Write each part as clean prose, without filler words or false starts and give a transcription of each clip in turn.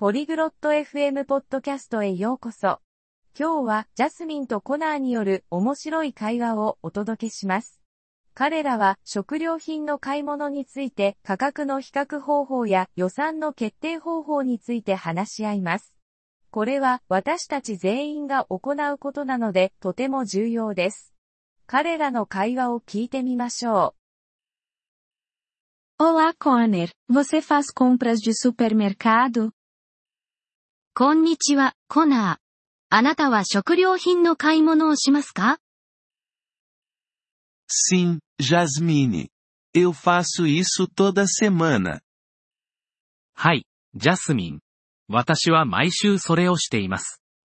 ポリグロット FM ポッドキャストへようこそ。今日はジャスミンとコナーによる面白い会話をお届けします。彼らは食料品の買い物について価格の比較方法や予算の決定方法について話し合います。これは私たち全員が行うことなのでとても重要です。彼らの会話を聞いてみましょう。 Olá, Connor. Você faz compras de supermercado? こんにちは、コナー。あなたは食料品の買い物をしますか？ Sim, Jasmine. Eu faço isso toda semana. はい、ジャスミン。私は毎週それをしています。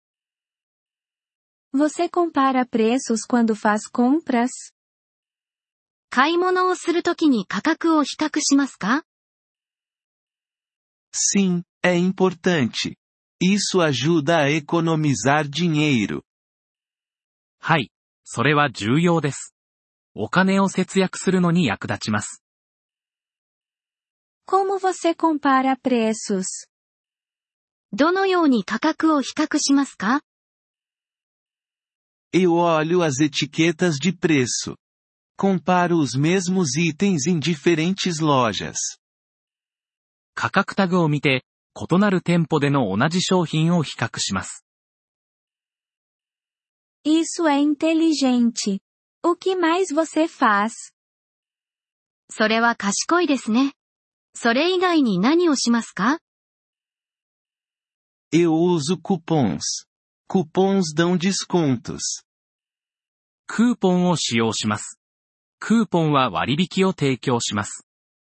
Você compara preços quando faz compras? 買い物をするときに価格を比較しますか？ Sim, é importante. Isso ajuda a economizar dinheiro. はい、それは重要です。お金を節約するのに役立ちます。 Como você compara preços? どのように価格を比較しますか？ Eu olho as etiquetas de preço. Comparo os mesmos itens em diferentes lojas. 価格タグを見て、異なる店舗での同じ商品を比較します。 Isso é inteligente. O que mais você faz? それは賢いですね。それ以外に何をしますか？ Eu uso cupons. Cupons dão descontos. クーポンを使用します。クーポンは割引を提供します。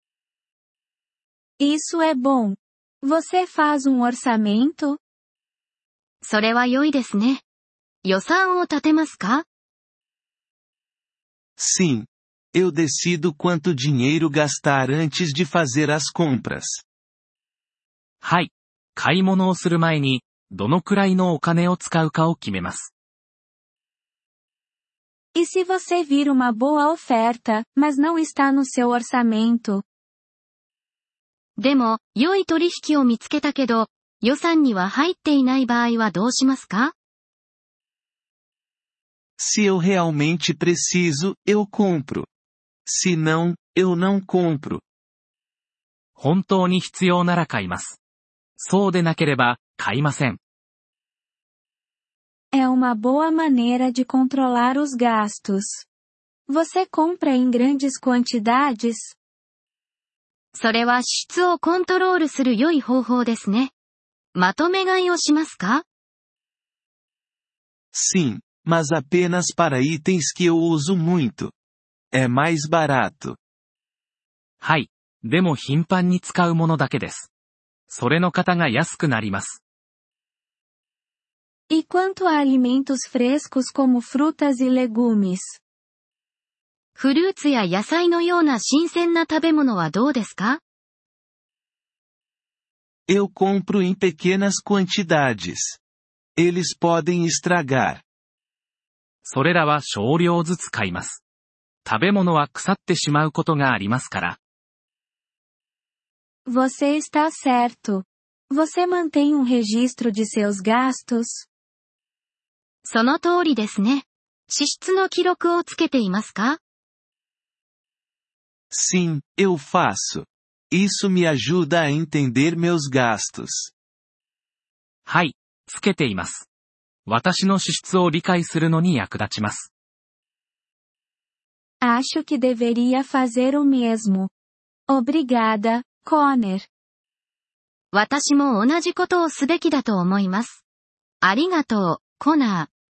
Isso é bom. Você faz orçamento? それは良いですね。予算を立てますか？ Sim. Eu decido quanto dinheiro gastar antes de fazer as compras. はい。買い物をする前に、どのくらいのお金を使うかを決めます。 E se você vir uma boa oferta, mas não está no seu orçamento? でも、良い取引を見つけたけど、予算には入っていない場合はどうしますか？ Se eu realmente preciso, eu compro. Se não, eu não compro. 本当に必要なら買います。そうでなければ、買いません。 É uma boa maneira de controlar os gastos. Você compra em grandes quantidades? それは支出をコントロールする良い方法ですね。まとめ買いをしますか？ Sim, mas apenas para itens que eu uso muito. É mais barato. はい。でも頻繁に使うものだけです。それの方が安くなります。 E quanto a alimentos frescos como frutas e legumes? フルーツや野菜のような新鮮な食べ物はどうですか？ Eu compro em pequenas quantidades. Eles podem estragar. それらは少量ずつ買います。食べ物は腐ってしまうことがありますから。 Você está certo. Você mantém registro de seus gastos? その通りですね。支出の記録をつけていますか？ Sim, eu faço. Isso me ajuda a entender meus gastos. はい、つけています。私の支出を理解するのに役立ちます。 Acho que deveria fazer o mesmo. Obrigada, Connor. 私も同じことをすべきだと思います。ありがとう、コナー。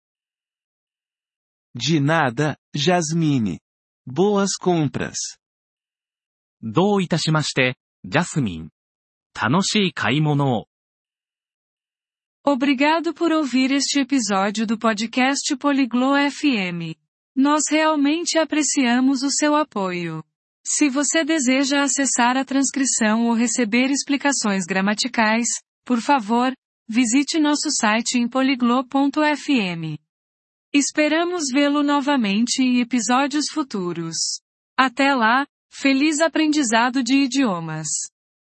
De nada, Jasmine. Boas compras. どういたしまして、ジャスミン。楽しい買い物を。 Obrigado por ouvir este episódio do podcast Poliglo FM. Nós realmente apreciamos o seu apoio. Se você deseja acessar a transcrição ou receber explicações gramaticais, por favor, visite nosso site em poliglo.fm. Esperamos vê-lo novamente em episódios futuros. Até lá, feliz aprendizado de idiomas!